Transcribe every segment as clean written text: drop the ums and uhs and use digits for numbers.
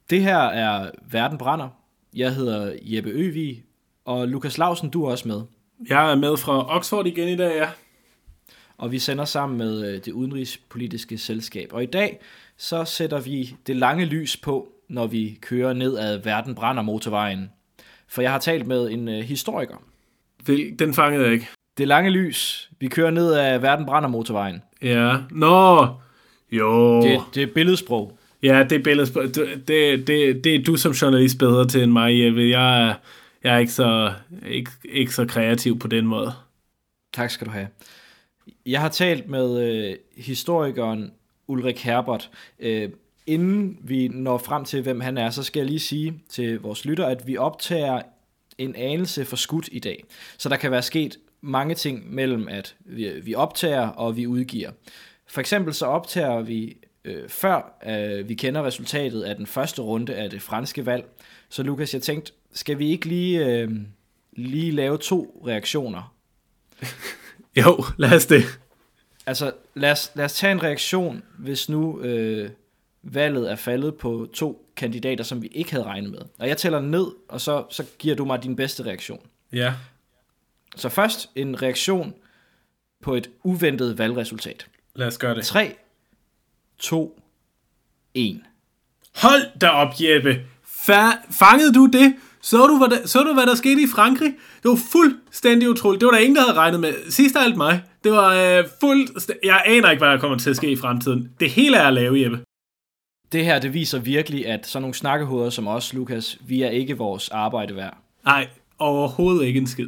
Det her er Verden brænder. Jeg hedder Jeppe Øvig, og Lukas Lausen, du er også med. Jeg er med fra Oxford igen i dag, ja. Og vi sender sammen med det udenrigspolitiske selskab. Og i dag, så sætter vi det lange lys på, når vi kører ned ad Verden brænder motorvejen. For jeg har talt med en historiker. Den fangede jeg ikke. Det lange lys. Vi kører ned ad Verden brænder motorvejen. Ja. Nå. Jo. Det er billedsprog. Ja, det er billedsprog. Det er du som journalist bedre til end mig, Jeppe. Jeg er ikke så kreativ på den måde. Tak skal du have. Jeg har talt med historikeren Ulrik Herbert. Inden vi når frem til, hvem han er, så skal jeg lige sige til vores lytter, at vi optager en anelse for skudt i dag. Så der kan være sket mange ting mellem, at vi optager og vi udgiver. For eksempel så optager vi før vi kender resultatet af den første runde af det franske valg. Så Lukas, jeg tænkte, skal vi ikke lige lave 2 reaktioner? Jo, lad os det. Altså, lad os tage en reaktion, hvis nu valget er faldet på 2 kandidater, som vi ikke havde regnet med. Og jeg tæller ned, og så giver du mig din bedste reaktion. Ja. Så først en reaktion på et uventet valgresultat. Lad os gøre det. 3, 2, 1. Hold da op, Jeppe. Fangede du det? Så du, hvad der skete i Frankrig? Det var fuldstændig utroligt. Det var der ingen, der havde regnet med. Sidst af alt mig. Det var jeg aner ikke, hvad der kommer til at ske i fremtiden. Det hele er at lave, Jeppe. Det her, det viser virkelig, at sådan nogle snakkehoveder som os, Lukas, vi er ikke vores arbejde værd. Nej, overhovedet ikke en skid.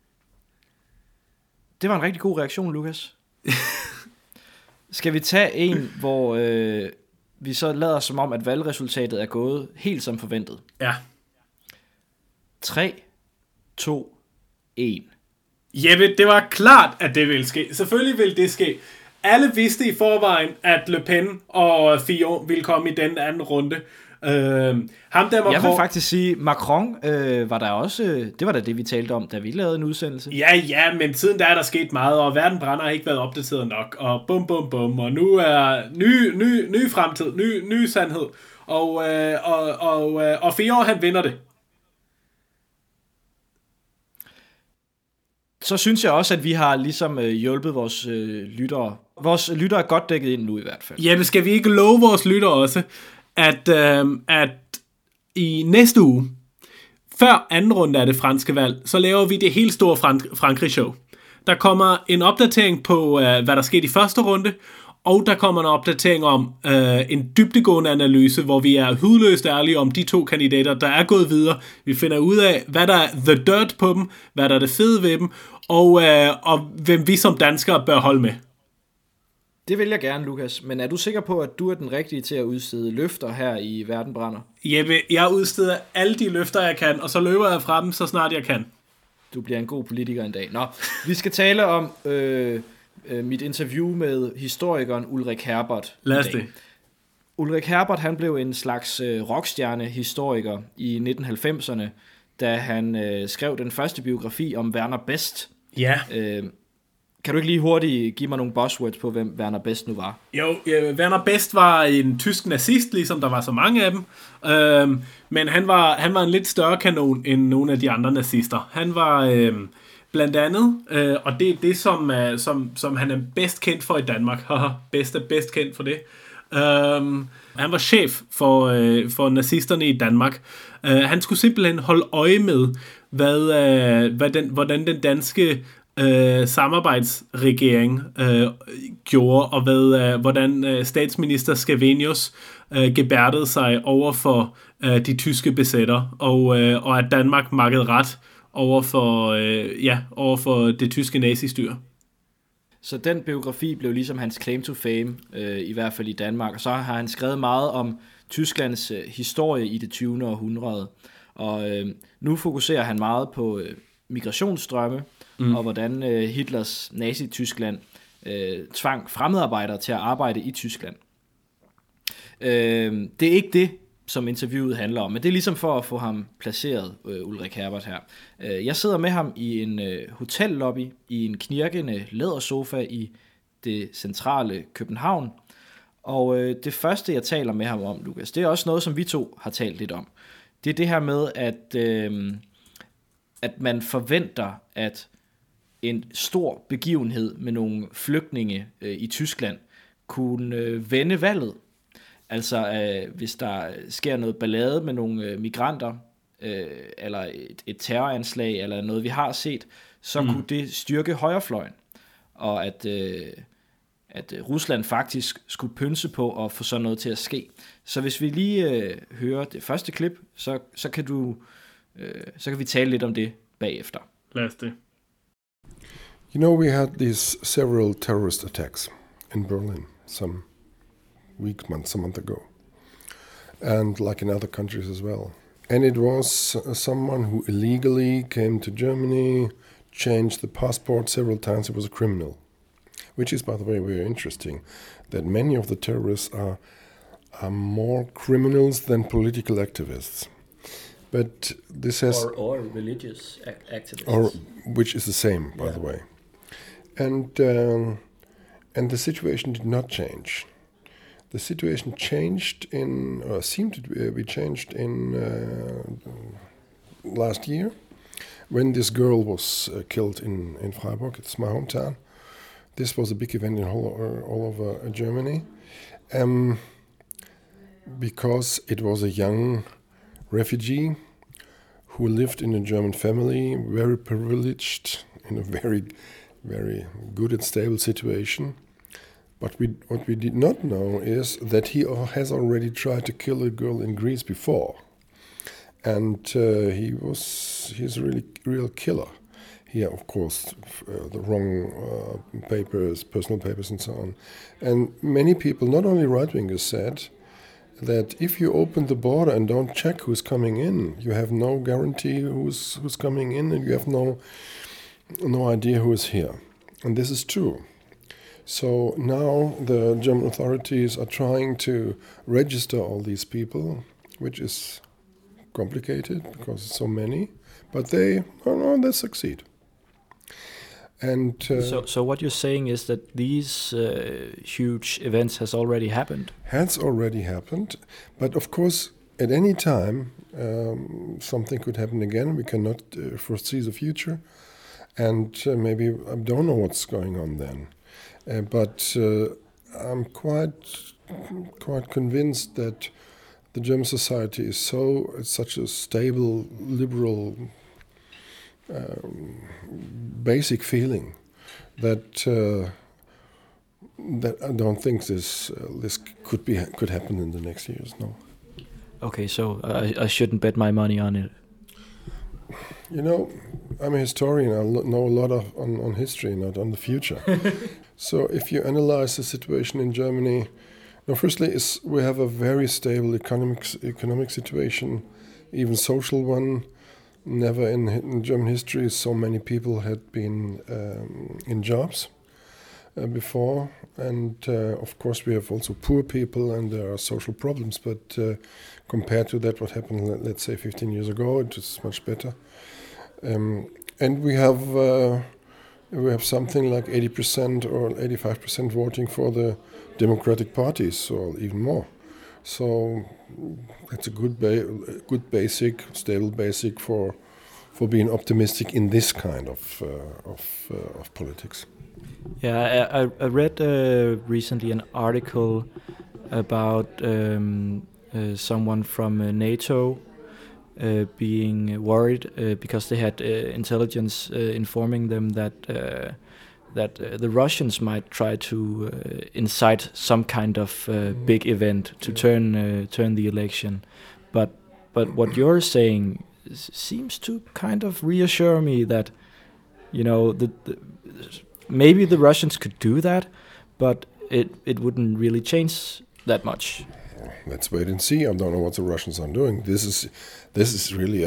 Det var en rigtig god reaktion, Lukas. Skal vi tage en, hvor vi så lader som om, at valgresultatet er gået helt som forventet? Ja. 3, 2, 1. Jeppe, det var klart, at det ville ske. Selvfølgelig ville det ske. Alle vidste i forvejen, at Le Pen og Fillon ville komme i den anden runde. Ham der Macron... Jeg vil faktisk sige, Macron var der også... Det var da det, vi talte om, da vi lavede en udsendelse. Ja, men siden der er der sket meget, og Verden brænder har ikke været opdateret nok, og bum, og nu er ny fremtid, ny sandhed, og Fillon, han vinder det. Så synes jeg også, at vi har ligesom hjulpet vores lyttere. Vores lyttere er godt dækket ind nu i hvert fald. Ja, men skal vi ikke love vores lyttere også, at i næste uge, før anden runde af det franske valg, så laver vi det helt store Frankrig-show. Der kommer en opdatering på, hvad der skete i første runde, og der kommer en opdatering om en dybdegående analyse, hvor vi er hudløst ærlige om de 2 kandidater, der er gået videre. Vi finder ud af, hvad der er the dirt på dem, hvad der er det fede ved dem, og hvem vi som danskere bør holde med. Det vil jeg gerne, Lukas. Men er du sikker på, at du er den rigtige til at udstede løfter her i Verden brænder? Jeppe, jeg udsteder alle de løfter, jeg kan, og så løber jeg fra dem, så snart jeg kan. Du bliver en god politiker en dag. Nå, vi skal tale om mit interview med historikeren Ulrik Herbert. Lad os det. Ulrik Herbert, han blev en slags rockstjerne-historiker i 1990'erne, da han skrev den første biografi om Werner Best. Ja. Kan du ikke lige hurtigt give mig nogle buzzwords på, hvem Werner Best nu var? Jo, Werner Best var en tysk nazist, ligesom der var så mange af dem. Men han var en lidt større kanon end nogle af de andre nazister. Han var blandt andet, og det er det, som han er bedst kendt for i Danmark. bedst kendt for det. Han var chef for nazisterne i Danmark. Han skulle simpelthen holde øje med, hvordan den danske samarbejdsregering gjorde, og hvordan statsminister Scavenius gebærdede sig over for de tyske besætter, og at Danmark makkede ret over for det tyske nazistyre. Så den biografi blev ligesom hans claim to fame, i hvert fald i Danmark, og så har han skrevet meget om Tysklands historie i det 20. århundrede, og nu fokuserer han meget på migrationsstrømme, og hvordan Hitlers Nazi-Tyskland tvang fremmedarbejdere til at arbejde i Tyskland. Det er ikke det, som interviewet handler om, men det er ligesom for at få ham placeret, Ulrik Herbert her. Jeg sidder med ham i en hotellobby, i en knirkende lædersofa i det centrale København, Og det første, jeg taler med ham om, Lukas, det er også noget, som vi to har talt lidt om. Det er det her med, at man forventer, at en stor begivenhed med nogle flygtninge i Tyskland kunne vende valget. Altså, hvis der sker noget ballade med nogle migranter, eller et terroranslag, eller noget, vi har set, så kunne det styrke højrefløjen. Og at Rusland faktisk skulle pynse på at få sådan noget til at ske. Så hvis vi lige hører det første klip, så kan vi tale lidt om det bagefter. Lad os det. You know, we had these several terrorist attacks in Berlin some months ago, and like in other countries as well. And it was someone who illegally came to Germany, changed the passport several times. It was a criminal, which is, by the way, very interesting, that many of the terrorists are more criminals than political activists. But this has... Or religious activists. Or, which is the same, by the way. And the situation did not change. The situation changed seemed to be changed in last year, when this girl was killed in Freiburg. It's my hometown. This was a big event in all over Germany, because it was a young refugee who lived in a German family, very privileged, in a very, very good and stable situation. But what we did not know is that he has already tried to kill a girl in Greece before, and he's a really real killer. He had, of course, the wrong papers, personal papers, and so on. And many people, not only right-wingers, said that if you open the border and don't check who's coming in, you have no guarantee who's coming in, and you have no idea who is here. And this is true. So now the German authorities are trying to register all these people, which is complicated because it's so many, but they succeed. And so what you're saying is that these huge events has already happened? Has already happened, but of course at any time something could happen again. We cannot foresee the future, and maybe I don't know what's going on then. But I'm quite convinced that the German society is such a stable, liberal, basic feeling that I don't think this could happen in the next years. No. Okay, so I shouldn't bet my money on it. You know, I'm a historian. I know a lot on history, not on the future. So if you analyze the situation in Germany, firstly, we have a very stable economic situation, even social one. Never in German history so many people had been in jobs before. And of course we have also poor people and there are social problems. But compared to that, what happened, let's say 15 years ago, it was much better. And we have something like 80% or 85% voting for the Democratic parties, or even more. So it's a good basic, stable basic for being optimistic in this kind of politics. Yeah, I read recently an article about someone from NATO being worried because they had intelligence informing them that the Russians might try to incite some kind of big event to turn the election, but what you're saying seems to kind of reassure me that, you know, maybe the Russians could do that, but it wouldn't really change that much. Let's wait and see. I don't know what the Russians are doing. This is really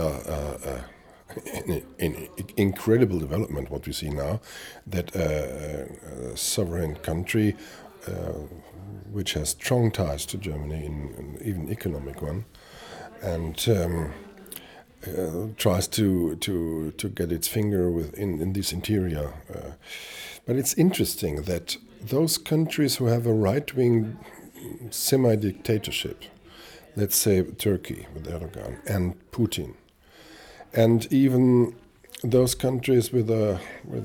an incredible development, what we see now, that a sovereign country which has strong ties to Germany, and even economic one, and tries to get its finger in this interior. But it's interesting that those countries who have a right-wing semi-dictatorship. Let's say Turkey with Erdogan and Putin, and even those countries with a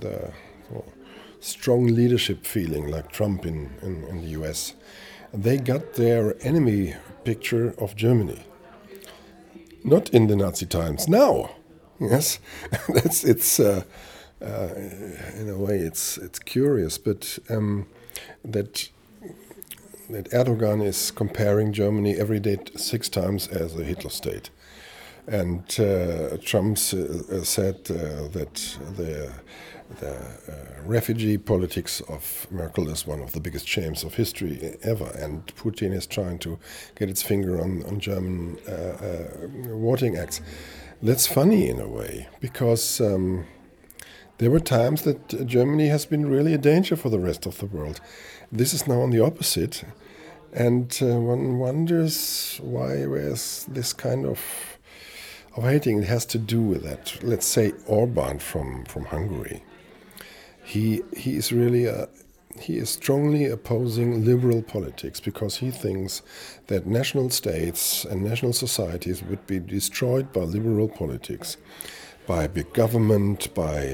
strong leadership feeling like Trump in the US, they got their enemy picture of Germany. Not in the Nazi times, now. Yes, it's in a way it's curious, but that Erdogan is comparing Germany every day 6 times as a Hitler state, and Trump said that the refugee politics of Merkel is one of the biggest shames of history ever, and Putin is trying to get its finger on German voting acts. That's funny in a way, because there were times that Germany has been really a danger for the rest of the world. This is now on the opposite, and one wonders why there's this kind of hating. It has to do with that. Let's say Orban from Hungary. He is really he is strongly opposing liberal politics because he thinks that national states and national societies would be destroyed by liberal politics, by big government, by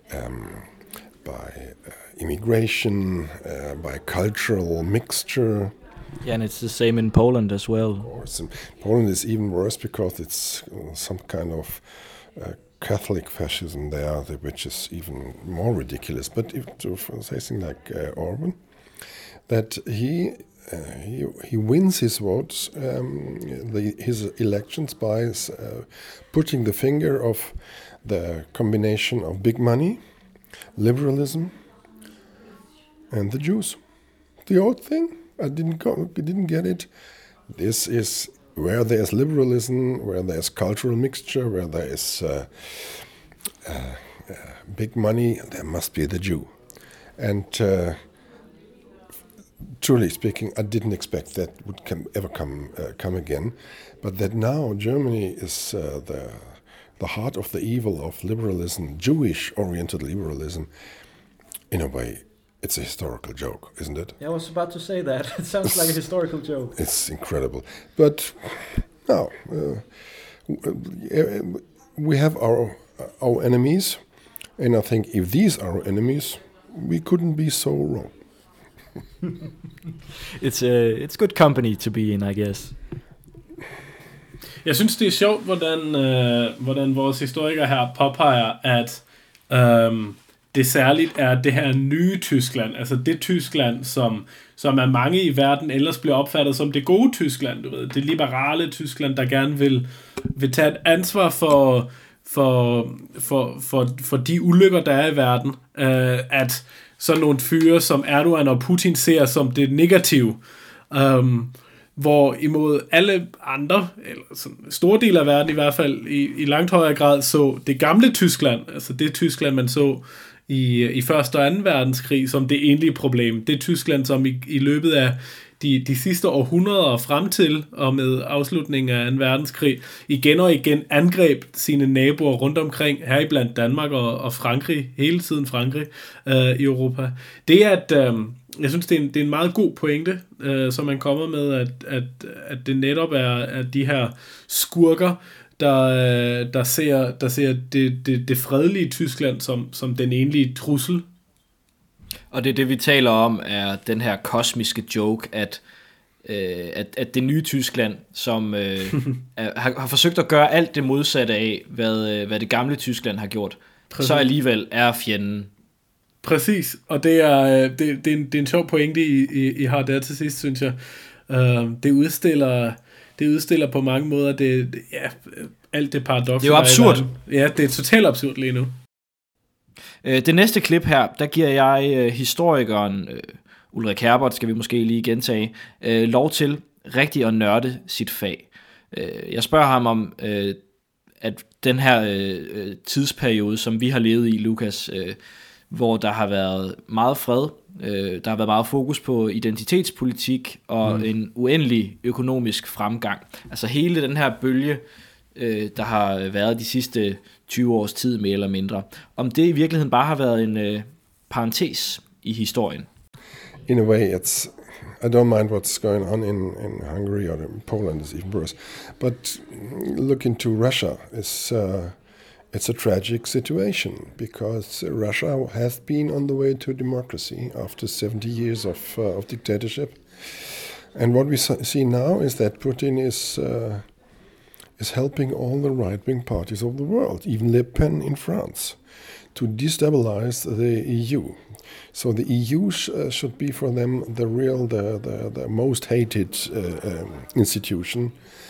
immigration, by cultural mixture. Yeah, and it's the same in Poland as well. Of course. And Poland is even worse because it's some kind of Catholic fascism there, which is even more ridiculous. But if to say something like Orban, that he wins his votes, his elections by putting the finger of the combination of big money, liberalism, and the Jews. The old thing, I didn't get it. This is where there's liberalism, where there's cultural mixture, where there is big money, there must be the Jew. And truly speaking, I didn't expect that would ever come again. But that now Germany is the heart of the evil of liberalism, Jewish-oriented liberalism, in a way, it's a historical joke, isn't it? Yeah, I was about to say that. It sounds like a historical joke. It's incredible. But no, we have our enemies, and I think if these are our enemies, we couldn't be so wrong. It's good company to be in, I guess. Jeg synes, det er sjovt, hvordan vores historiker her påpeger, at det særligt er det her nye Tyskland, altså det Tyskland, som er mange i verden ellers bliver opfattet som det gode Tyskland, du ved, det liberale Tyskland, der gerne vil tage et ansvar for de ulykker, der er i verden, at sådan nogle fyre som Erdogan og Putin ser som det negative, hvor imod alle andre, eller sådan store dele af verden i hvert fald, i langt højere grad så det gamle Tyskland, altså det Tyskland, man så i 1. og 2. verdenskrig som det egentlige problem. Det Tyskland, som i løbet af de sidste århundreder frem til og med afslutningen af 2. verdenskrig igen og igen angreb sine naboer rundt omkring, heriblandt Danmark og Frankrig, hele tiden Frankrig i Europa. Det er, at jeg synes, det er en meget god pointe, som man kommer med, at det netop er de her skurker, der ser det fredelige Tyskland som den egentlige trussel. Og det vi taler om, er den her kosmiske joke, at det nye Tyskland, som har forsøgt at gøre alt det modsatte af, hvad det gamle Tyskland har gjort, præcis, så alligevel er fjenden. Præcis, og det er en sjov pointe, I har der til sidst, synes jeg. Det udstiller på mange måder alt det paradoks. Det er jo absurd. Ja, det er totalt absurd lige nu. Det næste klip her, der giver jeg historikeren Ulrik Herbert, skal vi måske lige gentage, lov til rigtig at nørde sit fag. Jeg spørger ham om, at den her tidsperiode, som vi har levet i, Lukas, hvor der har været meget fred, der har været meget fokus på identitetspolitik og en uendelig økonomisk fremgang. Altså hele den her bølge, der har været de sidste 20 års tid mere eller mindre. Om det i virkeligheden bare har været en parentes i historien. In a way, I don't mind what's going on in Hungary or in Poland is even worse. But look into Russia. It's a tragic situation because Russia has been on the way to democracy after 70 years of dictatorship. And what we see now is that Putin is helping all the right-wing parties of the world, even Le Pen in France, to destabilize the EU. So the EU should be for them the most hated institution.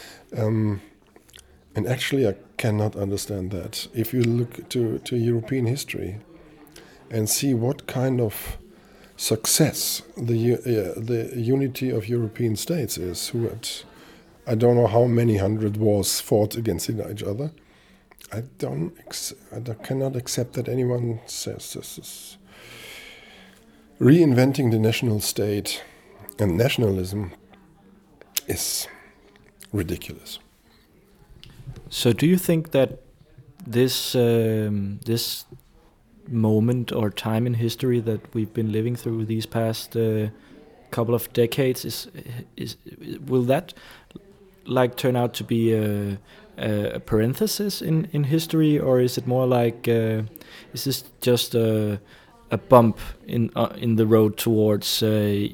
And actually I cannot understand that. If you look to European history and see what kind of success the unity of European states is, who had, I don't know how many hundred wars fought against each other, I cannot accept that anyone says this is reinventing the national state, and nationalism is ridiculous. So do you think that this this moment or time in history that we've been living through these past couple of decades will that like turn out to be a parenthesis in history, or is it more like is this just a bump in the road towards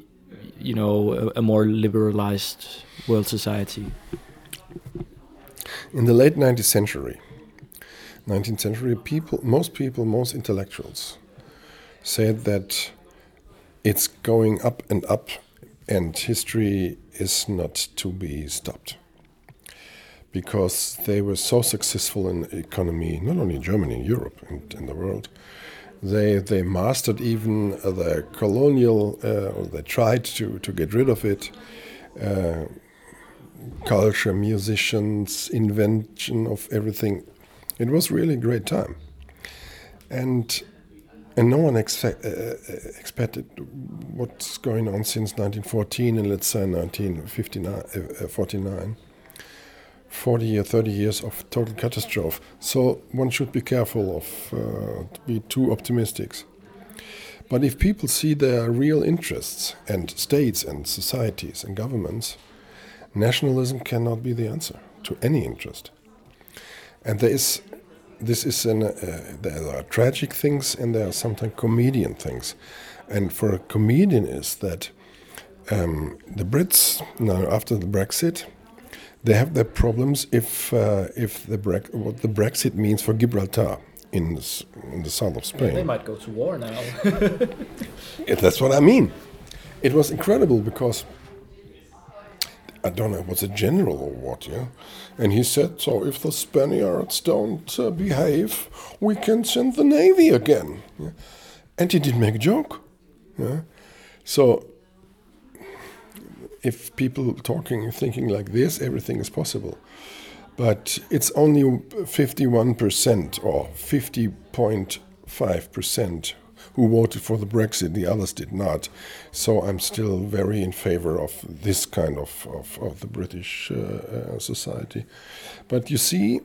a more liberalized world society? In the late 19th century, most intellectuals said that it's going up, and history is not to be stopped. Because they were so successful in economy, not only in Germany, in Europe, and in the world. They mastered even the colonial, or they tried to get rid of it. Culture, musicians, invention of everything. It was really a great time. And no one expected what's going on since 1914 and let's say 1949. 40 or 30 years of total catastrophe. So one should be careful of be too optimistic. But if people see their real interests and states and societies and governments, nationalism cannot be the answer to any interest. And there are tragic things and there are sometimes comedian things. And for a comedian is that the Brits, now after the Brexit, they have their problems what the Brexit means for Gibraltar in the south of Spain. They might go to war now. That's what I mean. It was incredible because I don't know, it was a general or what, yeah? And he said, so if the Spaniards don't behave, we can send the Navy again. Yeah? And he didn't make a joke. Yeah? So if people thinking like this, everything is possible. But it's only 51% or 50.5% who voted for the Brexit, the others did not. So I'm still very in favor of this kind of the British society. But you see,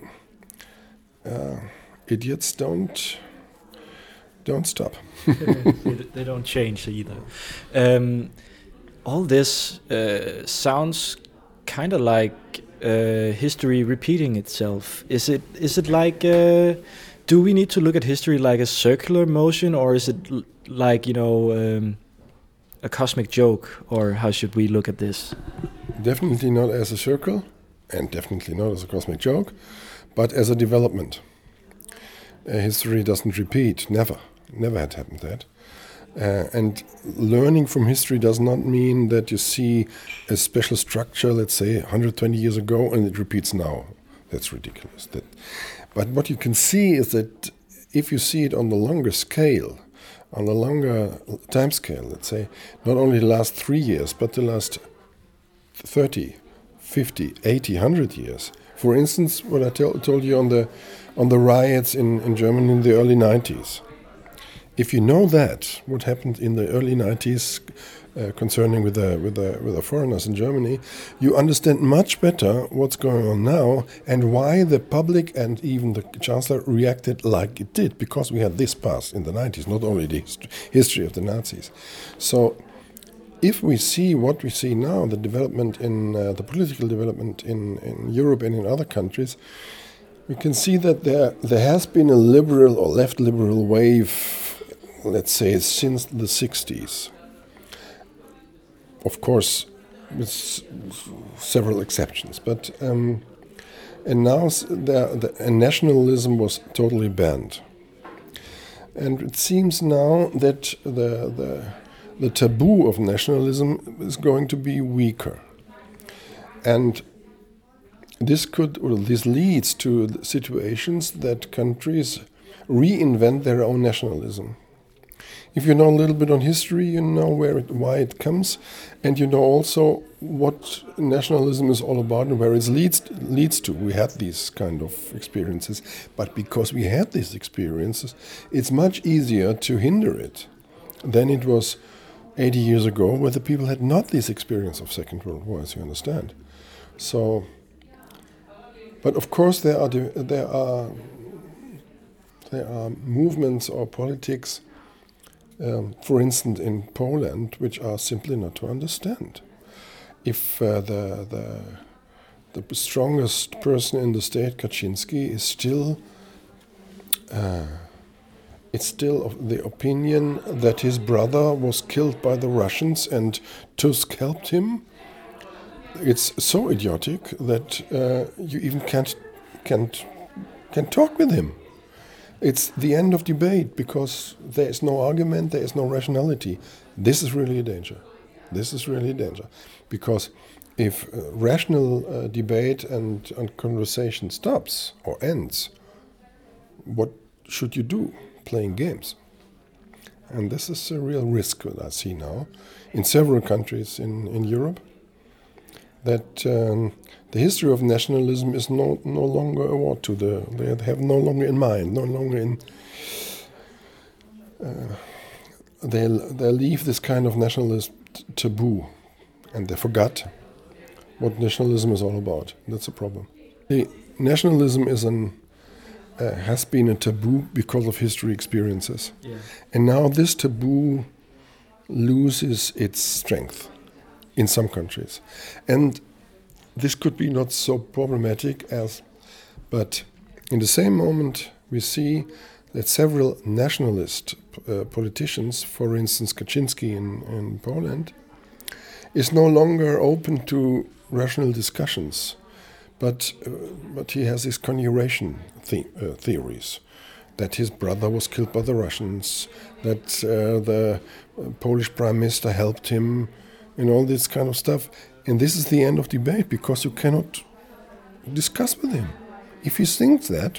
idiots don't stop. They don't change either. All this sounds kind of like history repeating itself. Is it like? Do we need to look at history like a circular motion, or is it like a cosmic joke, or how should we look at this? Definitely not as a circle, and definitely not as a cosmic joke, but as a development. History doesn't repeat. Never had happened that. And learning from history does not mean that you see a special structure, let's say 120 years ago, and it repeats now. That's ridiculous. But what you can see is that if you see it on the longer scale, on the longer time scale, let's say, not only the last 3 years, but the last 30, 50, 80, 100 years. For instance, what I told you on the riots in Germany in the early 90s. If you know that, what happened in the early 90s concerning with the foreigners in Germany, you understand much better what's going on now and why the public and even the Chancellor reacted like it did, because we had this past in the 90s, not only the history of the Nazis. So if we see what we see now, the development in the political development in Europe and in other countries, we can see that there has been a liberal or left liberal wave, let's say, since the 60s. Of course, with several exceptions, but and now nationalism was totally banned, and it seems now that the taboo of nationalism is going to be weaker, and this leads to situations that countries reinvent their own nationalism. If you know a little bit on history, you know why it comes, and you know also what nationalism is all about and where it leads to. We had these kind of experiences, but because we had these experiences, it's much easier to hinder it than it was 80 years ago, where the people had not this experience of Second World War, as you understand. So, but of course there are movements or politics. For instance, in Poland, which are simply not to understand. If the strongest person in the state, Kaczynski, is still of the opinion that his brother was killed by the Russians and Tusk helped him, it's so idiotic that you even can't talk with him. It's the end of debate because there is no argument, there is no rationality. This is really a danger. Because if rational debate and conversation stops or ends, what should you do? Playing games. And this is a real risk that I see now in several countries in Europe, that the history of nationalism is no longer a war to they have no longer in mind, no longer in. They leave this kind of nationalist taboo, and they forgot what nationalism is all about. That's a problem. Nationalism has been a taboo because of history experiences, and now this taboo loses its strength in some countries, and this could be not so problematic but in the same moment we see that several nationalist politicians, for instance Kaczynski in Poland, is no longer open to rational discussions, but he has these conjuration theories, that his brother was killed by the Russians, that the Polish prime minister helped him, and all this kind of stuff. And this is the end of debate, because you cannot discuss with him. If he thinks that,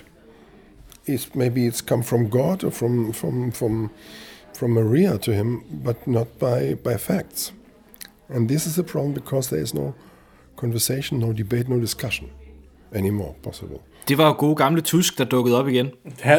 maybe it's come from God or from Maria to him, but not by facts. And this is a problem, because there is no conversation, no debate, no discussion anymore possible. Det var jo gode gamle Tusk, der dukkede op igen.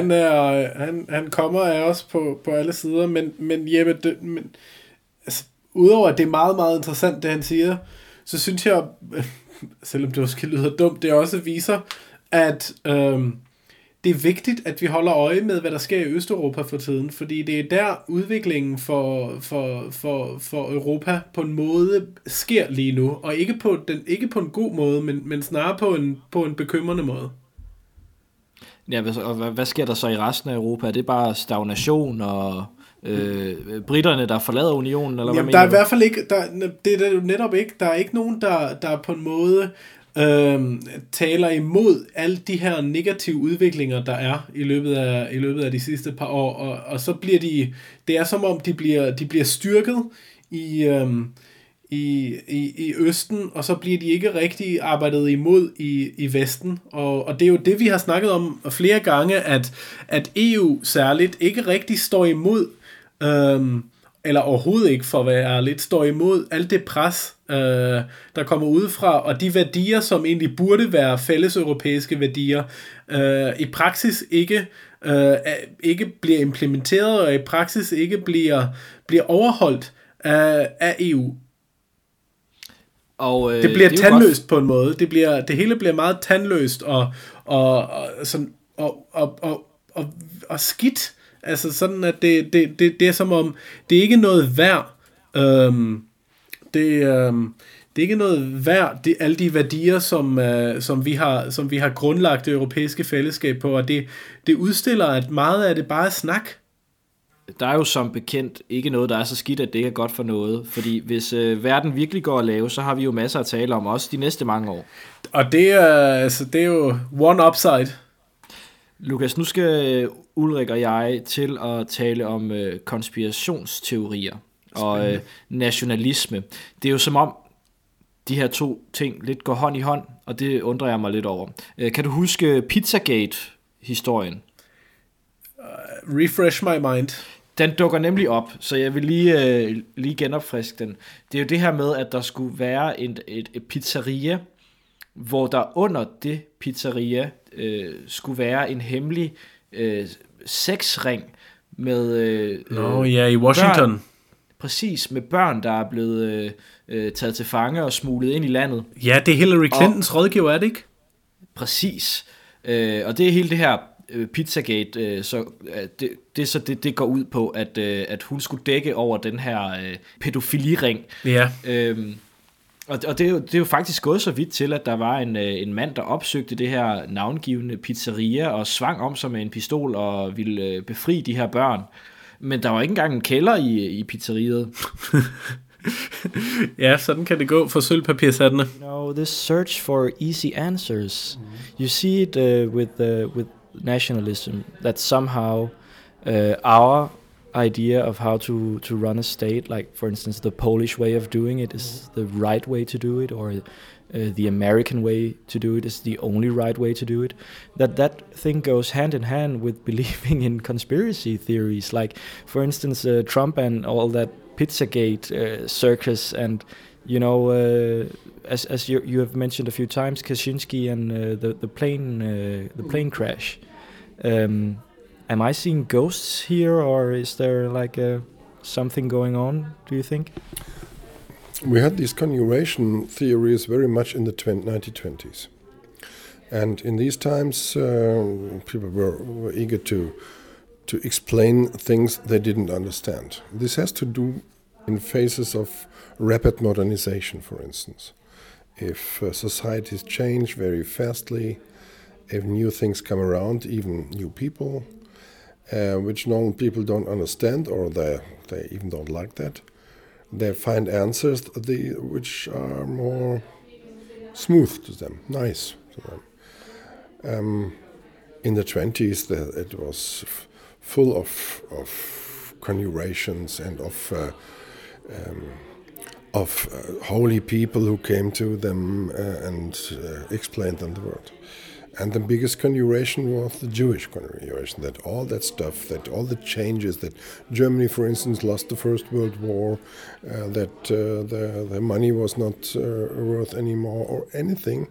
Han kommer af os på alle sider, men Jeppe, altså, udover at det er meget, meget interessant, det han siger, så synes jeg, selvom det også lyder dumt, det også viser, at det er vigtigt, at vi holder øje med, hvad der sker i Østeuropa for tiden, fordi det er der udviklingen for Europa på en måde sker lige nu, og ikke på en god måde, men snarere på en bekymrende måde. Ja, og hvad sker der så i resten af Europa? Er det bare stagnation og britterne, der forlader unionen? Eller jamen, der er i hvert fald ikke, det er jo netop ikke, der er ikke nogen, der på en måde taler imod alle de her negative udviklinger, der er i løbet af de sidste par år, og så bliver det er som om de bliver styrket i Østen, og så bliver de ikke rigtig arbejdet imod i Vesten, og det er jo det, vi har snakket om flere gange, at EU særligt ikke rigtig står imod, eller overhovedet ikke, for at være ærligt, står imod alt det pres, der kommer udefra, og de værdier, som egentlig burde være fælles europæiske værdier, i praksis ikke bliver implementeret, og i praksis ikke bliver overholdt af EU. Og, det bliver tandløst på en måde. Det hele bliver meget tandløst og skidt. Altså sådan, at det er som om, det er ikke noget værd Det er ikke noget værd, alle de værdier, som vi har grundlagt det europæiske fællesskab på, og det udstiller, at meget af det bare er snak. Der er jo som bekendt ikke noget, der er så skidt, at det ikke er godt for noget. Fordi hvis verden virkelig går at lave, så har vi jo masser at tale om, også de næste mange år. Og det er jo one upside. Lukas, nu skal Ulrik og jeg til at tale om konspirationsteorier og nationalisme. Det er jo som om, de her to ting lidt går hånd i hånd, og det undrer jeg mig lidt over. Kan du huske Pizzagate-historien? Refresh my mind. Den dukker nemlig op, så jeg vil lige genopfriske den. Det er jo det her med, at der skulle være et pizzeria, hvor der under det pizzeria skulle være en hemmelig sexring med i Washington. Børn, præcis, med børn, der er blevet taget til fange og smuglet ind i landet. Ja, det er Hillary Clintons rådgiver, er det ikke? Præcis. Og det er hele det her Pizzagate, det går ud på, at hun skulle dække over den her pædofiliring. Ja. Og det er jo faktisk gået så vidt til, at der var en mand, der opsøgte det her navngivende pizzeria og svang om sig med en pistol og ville befri de her børn. Men der var ikke engang en kælder i pizzeriet. Ja, sådan kan det gå for sølvpapirshattene. You know, this search for easy answers. You see it with nationalism, that somehow our idea of how to run a state, like for instance the Polish way of doing it is the right way to do it, or the American way to do it is the only right way to do it, that thing goes hand in hand with believing in conspiracy theories, like for instance Trump and all that Pizzagate circus, and you know, as you have mentioned a few times, Kaczynski and the plane crash. Am I seeing ghosts here, or is there like something going on, do you think? We had these conjuration theories very much in the 1920s. And in these times, people were eager to explain things they didn't understand. This has to do in phases of rapid modernization, for instance. If societies change very fastly, if new things come around, even new people, which normal people don't understand, or they even don't like that, they find answers which are more smooth to them, nice to them. In the 20s, it was full of conjurations and of holy people who came to them and explained them the word. And the biggest conjuration was the Jewish conjuration, that all that stuff, that all the changes, that Germany, for instance, lost the First World War, that the money was not worth anymore or anything.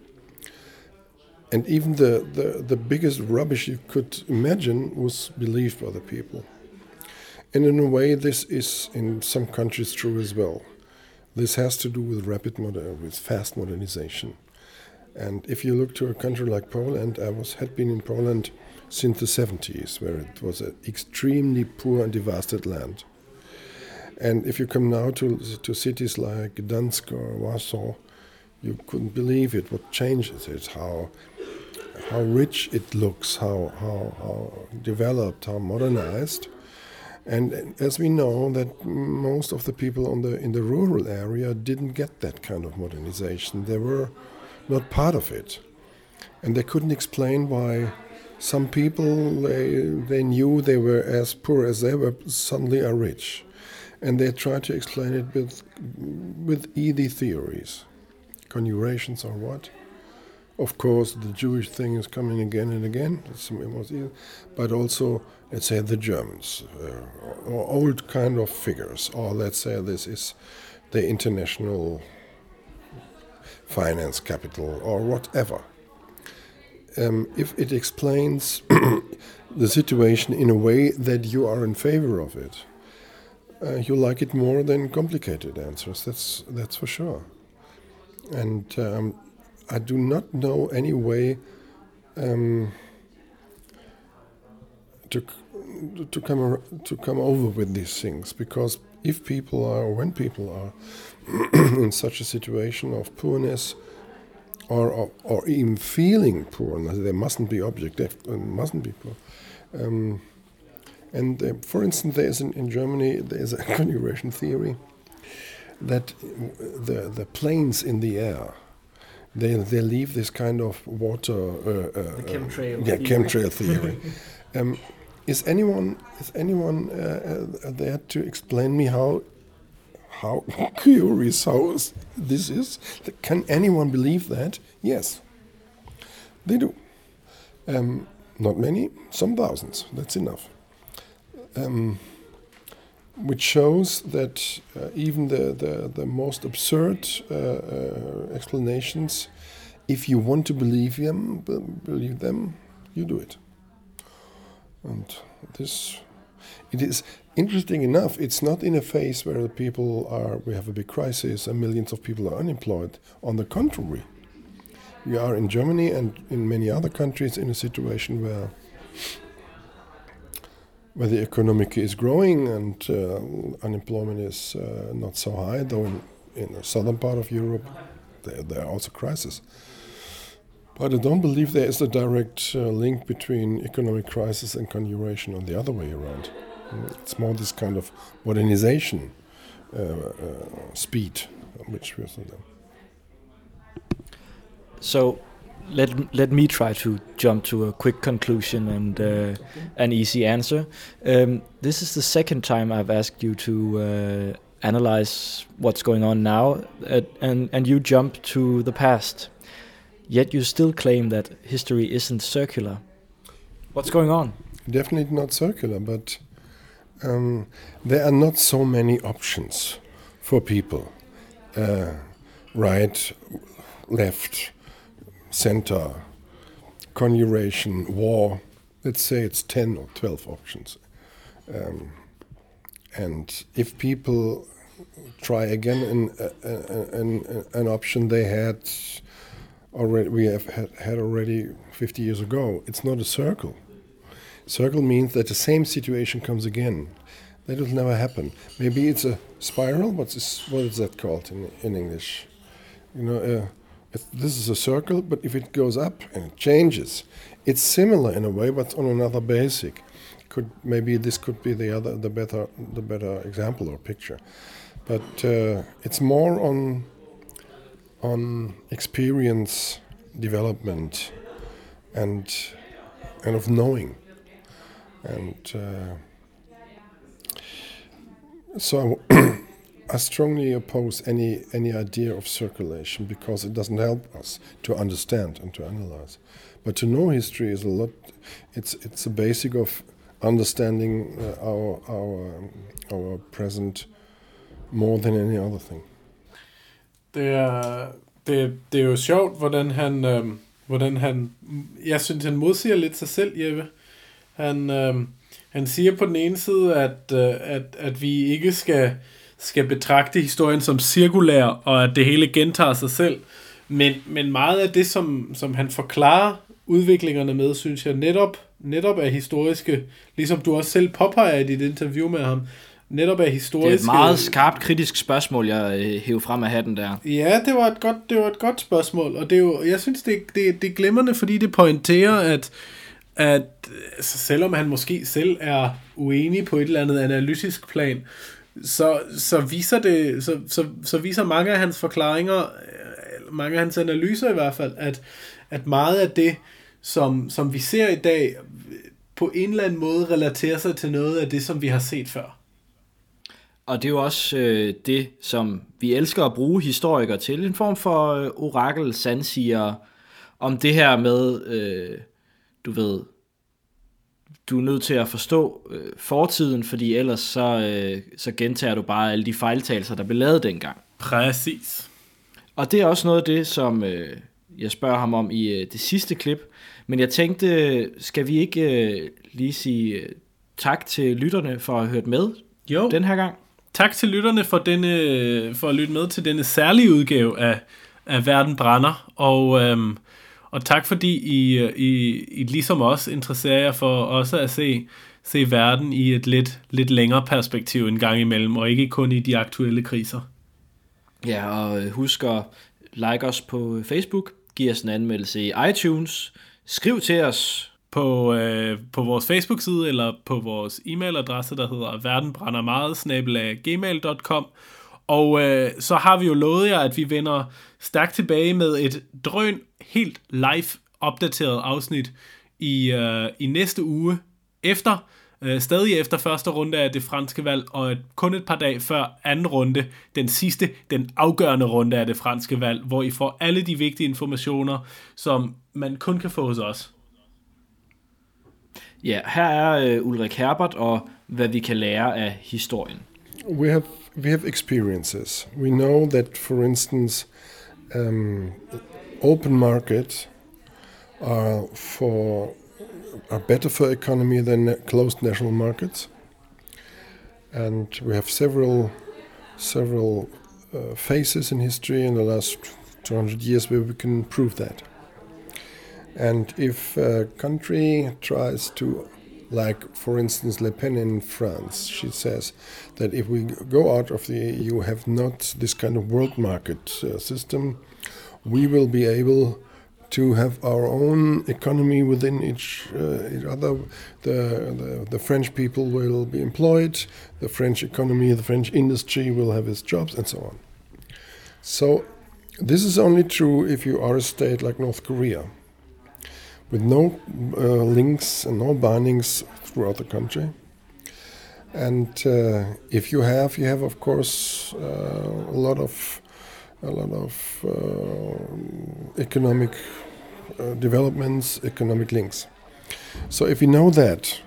And even the biggest rubbish you could imagine was believed by the people. And in a way, this is in some countries true as well. This has to do with with fast modernization. And if you look to a country like Poland, had been in Poland since the 70s, where it was an extremely poor and devastated land. And if you come now to cities like Gdansk or Warsaw, you couldn't believe it. What changes it? How rich it looks? How developed? How modernized? And as we know, that most of the people in the rural area didn't get that kind of modernization. They were not part of it, and they couldn't explain why some people they knew they were as poor as they were suddenly are rich, and they tried to explain it with easy theories, conjurations or what. Of course, the Jewish thing is coming again and again. But also, let's say the Germans, or old kind of figures, or let's say this is the international finance capital or whatever. If it explains the situation in a way that you are in favor of it, you like it more than complicated answers. That's for sure. And I do not know any way to come over with these things, because if people are, or when people are in such a situation of poorness, or even feeling poor, they mustn't be objective, mustn't be poor. For instance, in Germany there's a configuration theory that the planes in the air, they leave this kind of water chemtrail theory. Is anyone there to explain me how curious how this is? Can anyone believe that? Yes, they do. Not many, some thousands. That's enough. Which shows that even the most absurd explanations, if you want to believe them, you do it. And it is interesting enough. It's not in a phase where we have a big crisis and millions of people are unemployed. On the contrary, we are in Germany and in many other countries in a situation where the economy is growing and unemployment is not so high, though in the southern part of Europe there are also crises. But I don't believe there is a direct link between economic crisis and conjuration or the other way around. It's more this kind of modernization speed which we're seeing. So let me try to jump to a quick conclusion and an easy answer. This is the second time I've asked you to analyze what's going on now, and you jump to the past. Yet you still claim that history isn't circular. What's going on? Definitely not circular, but there are not so many options for people. Right, left, center, conjuration, war. Let's say it's 10 or 12 options. And if people try again an option they had already, we have had already 50 years ago, it's not a circle. Circle means that the same situation comes again. That will never happen. Maybe it's a spiral. What is that called in English? This is a circle, but if it goes up and it changes, it's similar in a way, but on another basic. Maybe this could be the better example or picture. But it's more on experience, development, and of knowing. And so I strongly oppose any idea of circulation because it doesn't help us to understand and to analyze. But to know history is a lot. It's a basic of understanding our present more than any other thing. Det er jo sjovt, hvordan han jeg synes han modsiger lidt sig selv, Jeppe. Han siger på den ene side, at vi ikke skal betragte historien som cirkulær, og at det hele gentager sig selv. Men meget af det, som han forklarer udviklingerne med, synes jeg netop er historiske, ligesom du også selv påpeger i dit interview med ham, netop er historiske. Det er et meget skarpt kritisk spørgsmål, jeg hæver frem af hatten der. Ja, det var et godt spørgsmål, og det er jo, jeg synes, det er glimrende, fordi det pointerer, at selvom han måske selv er uenig på et eller andet analytisk plan, så viser mange af hans forklaringer, mange af hans analyser i hvert fald, at meget af det, som vi ser i dag, på en eller anden måde relaterer sig til noget af det, som vi har set før. Og det er jo også det, som vi elsker at bruge historikere til, en form for orakel, sandsiger, om det her med, du er nødt til at forstå fortiden, fordi ellers så gentager du bare alle de fejltagelser, der blev lavet dengang. Præcis. Og det er også noget af det, som jeg spørger ham om i det sidste klip. Men jeg tænkte, skal vi ikke lige sige tak til lytterne for at have hørt med den her gang? Tak til lytterne for at lytte med til denne særlige udgave af Verden brænder. Og Og tak fordi I ligesom os interesserer jer for også at se verden i et lidt længere perspektiv en gang imellem, og ikke kun i de aktuelle kriser. Ja, og husk at like os på Facebook, giv os en anmeldelse i iTunes, skriv til os på vores Facebook-side eller på vores e-mailadresse, der hedder verdenbrændermeget@gmail.com. Og så har vi jo lovet jer, at vi vender stærkt tilbage med et drøn helt live opdateret afsnit i næste uge stadig efter første runde af det franske valg, og kun et par dage før anden runde, den afgørende runde af det franske valg, hvor I får alle de vigtige informationer, som man kun kan få hos os. Ja, her er Ulrik Herbert og hvad vi kan lære af historien. We have experiences. We know that, for instance, open market are better for economy than closed national markets, and we have several phases in history in the last 200 years where we can prove that. And if a country tries to, like for instance Le Pen in France, she says that if we go out of the EU, have not this kind of world market system, we will be able to have our own economy within each other. The French people will be employed, the French economy, the French industry will have its jobs, and so on. So this is only true if you are a state like North Korea, with no links and no bindings throughout the country. And if you have of course a lot of economic developments, economic links. So if we know that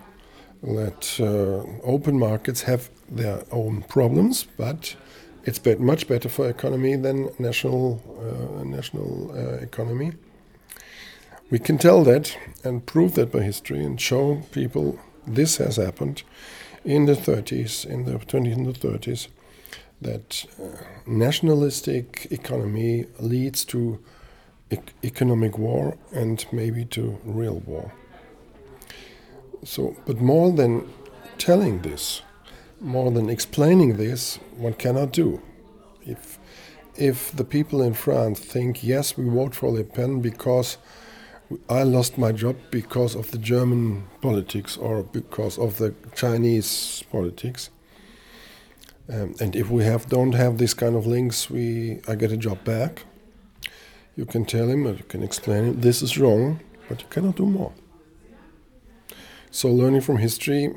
open markets have their own problems, but it's much better for economy than national economy. We can tell that and prove that by history and show people this has happened in the 30s, in the 20s and the 30s, that nationalistic economy leads to economic war and maybe to real war. So, but more than telling this, more than explaining this, one cannot do. If the people in France think, yes, we vote for Le Pen because I lost my job because of the German politics or because of the Chinese politics, and if we don't have this kind of links, I get a job back. You can tell him, or you can explain him, this is wrong, but you cannot do more. So learning from history,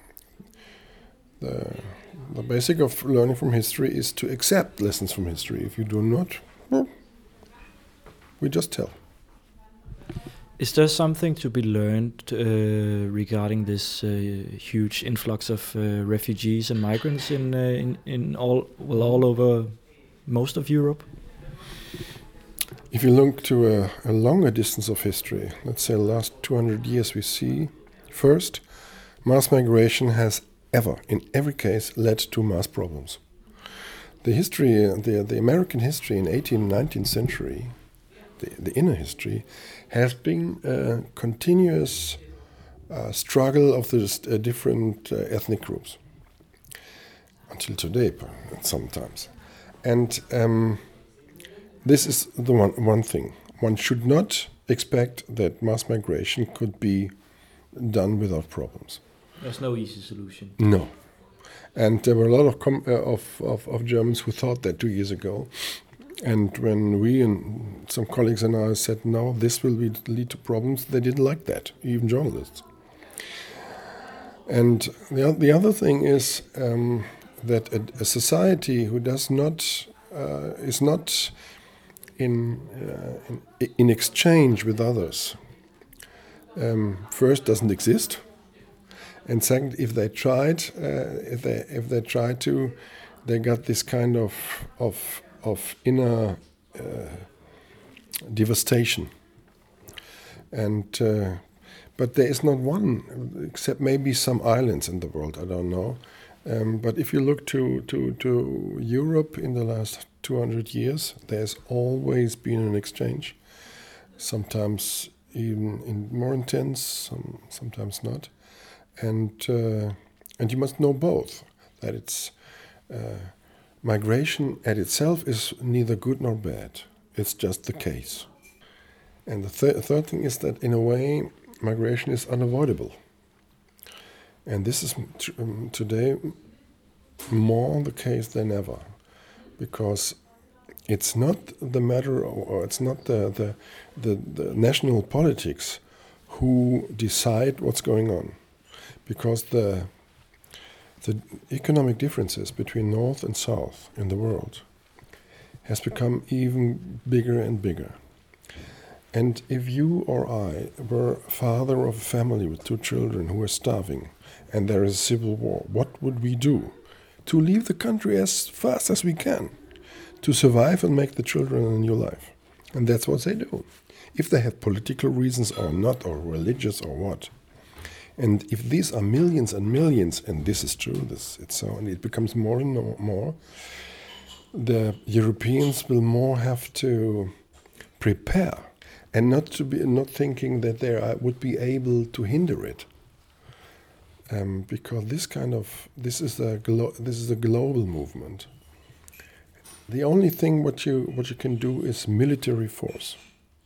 the basic of learning from history is to accept lessons from history. If you do not, well, we just tell. Is there something to be learned regarding this huge influx of refugees and migrants in all over most of Europe? If you look to a longer distance of history, let's say the last 200 years, we see first, mass migration has in every case, led to mass problems. The American history in 18th and 19th century, the inner history, has been a continuous struggle of the different ethnic groups until today, sometimes. And this is the one thing. One should not expect that mass migration could be done without problems. There's no easy solution. No. And there were a lot of Germans who thought that 2 years ago. And when we and some colleagues and I said, no, this will lead to problems, they didn't like that, even journalists. And the other thing is that a society who does not is not in exchange with others, first doesn't exist, and second, if they tried, they got this kind of inner devastation. And but there is not one, except maybe some islands in the world, I don't know. But if you look to Europe in the last 200 years, there's always been an exchange. sometimes even more intense, sometimes not. And you must know both, that it's migration at itself is neither good nor bad. It's just the case. And the third thing is that, in a way, migration is unavoidable. And this is today more the case than ever, because it's not the matter, or it's not the national politics who decide what's going on, because the economic differences between North and South in the world has become even bigger and bigger. And if you or I were father of a family with 2 children who are starving, and there is a civil war, what would we do? To leave the country as fast as we can, to survive and make the children a new life. And that's what they do. If they have political reasons or not, or religious or what. And if these are millions and millions, and this is true, it's so, and it becomes more and more, the Europeans will more have to prepare, and not thinking that they would be able to hinder it, because this is a global movement. The only thing what you can do is military force.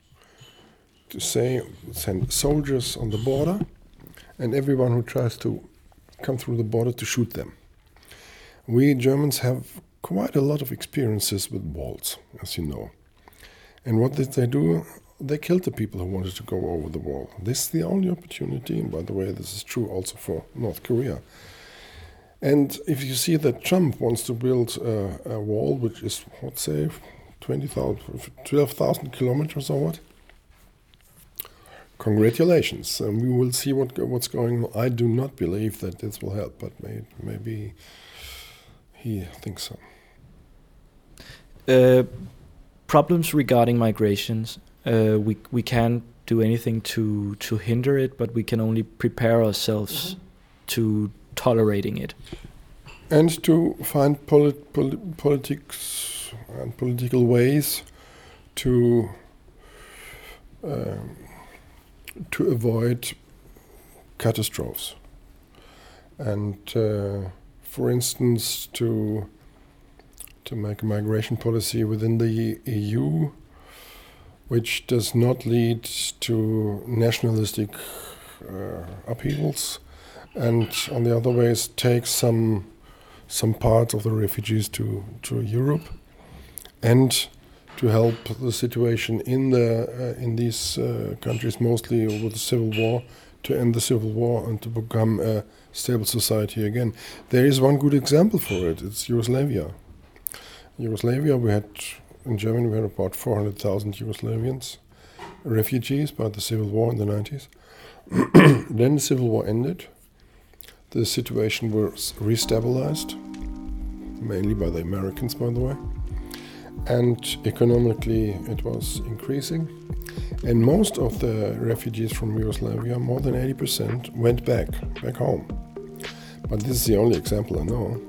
To send soldiers on the border, and everyone who tries to come through the border to shoot them. We Germans have quite a lot of experiences with walls, as you know. And what did they do? They killed the people who wanted to go over the wall. This is the only opportunity, and by the way, this is true also for North Korea. And if you see that Trump wants to build a wall which is, let's say, 12,000 kilometers or what? Congratulations, and we will see what's going on. I do not believe that this will help, but maybe he thinks so. Problems regarding migrations. We can't do anything to hinder it, but we can only prepare ourselves to tolerating it. And to find politics and political ways to avoid catastrophes. And for instance, to make a migration policy within the EU which does not lead to nationalistic upheavals, and on the other ways takes some parts of the refugees to Europe, and to help the situation in these countries, mostly over the civil war, to end the civil war and to become a stable society again. There is one good example for it. It's Yugoslavia. In Germany we had about 400,000 Yugoslavians, refugees by the civil war in the 90s. Then the civil war ended. The situation was restabilized, mainly by the Americans, by the way. And economically it was increasing. And most of the refugees from Yugoslavia, more than 80%, went back home. But this is the only example I know.